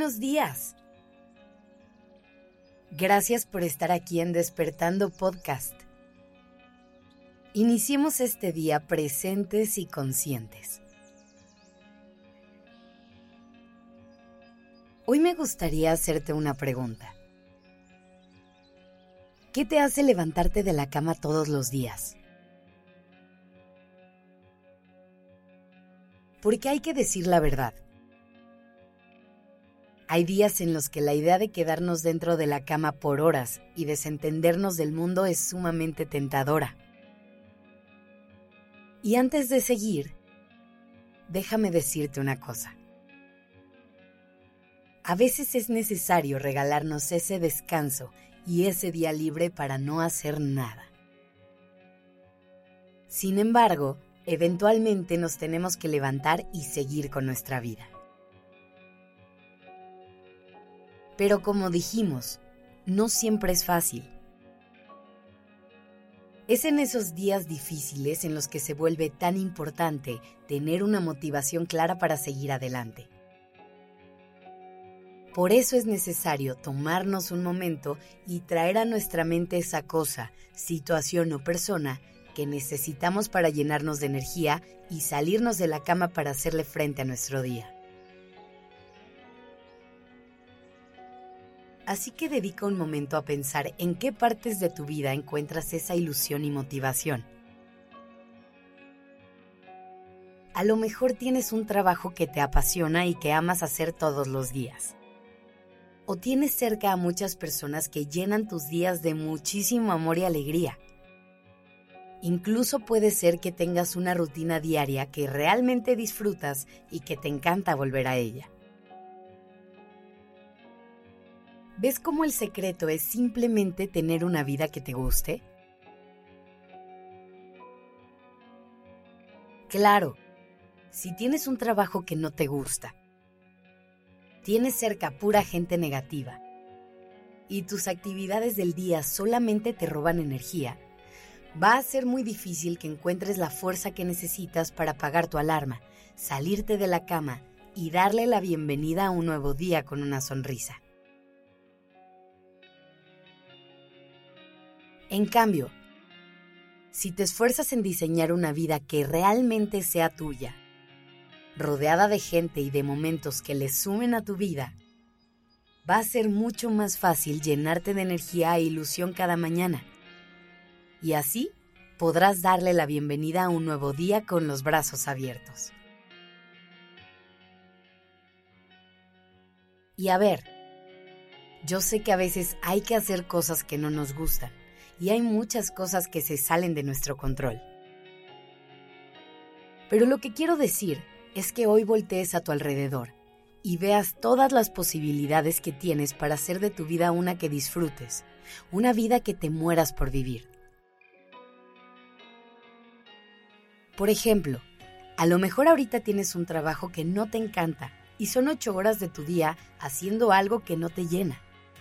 buenos días. Gracias por estar aquí en Despertando Podcast. Iniciemos este día presentes y conscientes. Hoy me gustaría hacerte una pregunta. ¿Qué te hace levantarte de la cama todos los días? Porque hay que decir la verdad. Hay días en los que la idea de quedarnos dentro de la cama por horas y desentendernos del mundo es sumamente tentadora. Y antes de seguir, déjame decirte una cosa. A veces es necesario regalarnos ese descanso y ese día libre para no hacer nada. Sin embargo, eventualmente nos tenemos que levantar y seguir con nuestra vida. Pero como dijimos, no siempre es fácil. Es en esos días difíciles en los que se vuelve tan importante tener una motivación clara para seguir adelante. Por eso es necesario tomarnos un momento y traer a nuestra mente esa cosa, situación o persona que necesitamos para llenarnos de energía y salirnos de la cama para hacerle frente a nuestro día. Así que dedica un momento a pensar en qué partes de tu vida encuentras esa ilusión y motivación. A lo mejor tienes un trabajo que te apasiona y que amas hacer todos los días. O tienes cerca a muchas personas que llenan tus días de muchísimo amor y alegría. Incluso puede ser que tengas una rutina diaria que realmente disfrutas y que te encanta volver a ella. ¿Ves cómo el secreto es simplemente tener una vida que te guste? Claro, si tienes un trabajo que no te gusta, tienes cerca pura gente negativa y tus actividades del día solamente te roban energía, va a ser muy difícil que encuentres la fuerza que necesitas para apagar tu alarma, salirte de la cama y darle la bienvenida a un nuevo día con una sonrisa. En cambio, si te esfuerzas en diseñar una vida que realmente sea tuya, rodeada de gente y de momentos que le sumen a tu vida, va a ser mucho más fácil llenarte de energía e ilusión cada mañana. Y así podrás darle la bienvenida a un nuevo día con los brazos abiertos. Y a ver, yo sé que a veces hay que hacer cosas que no nos gustan. Y hay muchas cosas que se salen de nuestro control. Pero lo que quiero decir es que hoy voltees a tu alrededor y veas todas las posibilidades que tienes para hacer de tu vida una que disfrutes, una vida que te mueras por vivir. Por ejemplo, a lo mejor ahorita tienes un trabajo que no te encanta y son 8 horas de tu día haciendo algo que no te llena.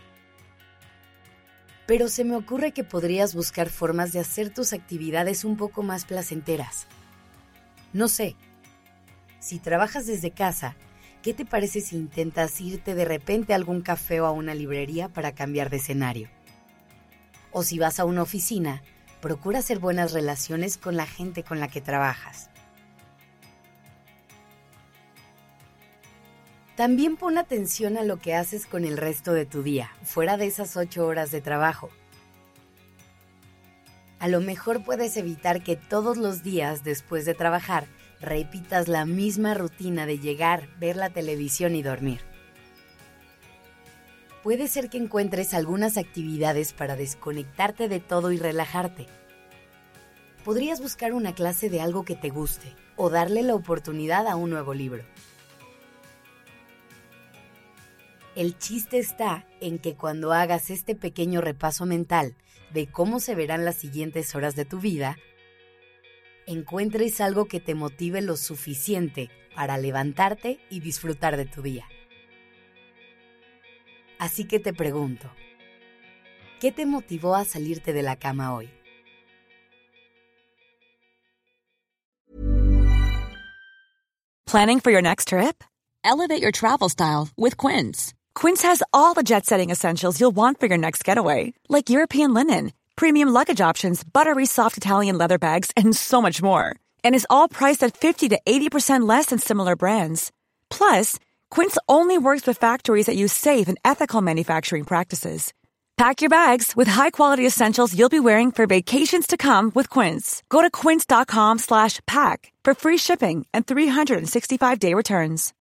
Pero se me ocurre que podrías buscar formas de hacer tus actividades un poco más placenteras. No sé, si trabajas desde casa, ¿qué te parece si intentas irte de repente a algún café o a una librería para cambiar de escenario? O si vas a una oficina, procura hacer buenas relaciones con la gente con la que trabajas. También pon atención a lo que haces con el resto de tu día, fuera de esas 8 horas de trabajo. A lo mejor puedes evitar que todos los días después de trabajar repitas la misma rutina de llegar, ver la televisión y dormir. Puede ser que encuentres algunas actividades para desconectarte de todo y relajarte. Podrías buscar una clase de algo que te guste o darle la oportunidad a un nuevo libro. El chiste está en que cuando hagas este pequeño repaso mental de cómo se verán las siguientes horas de tu vida, encuentres algo que te motive lo suficiente para levantarte y disfrutar de tu día. Así que te pregunto, ¿qué te motivó a salirte de la cama hoy? Planning for your next trip? Elevate your travel style with Quince. Quince has all the jet-setting essentials you'll want for your next getaway, like European linen, premium luggage options, buttery soft Italian leather bags, and so much more. And is all priced at 50 to 80% less than similar brands. Plus, Quince only works with factories that use safe and ethical manufacturing practices. Pack your bags with high-quality essentials you'll be wearing for vacations to come with Quince. Go to quince.com/pack for free shipping and 365-day returns.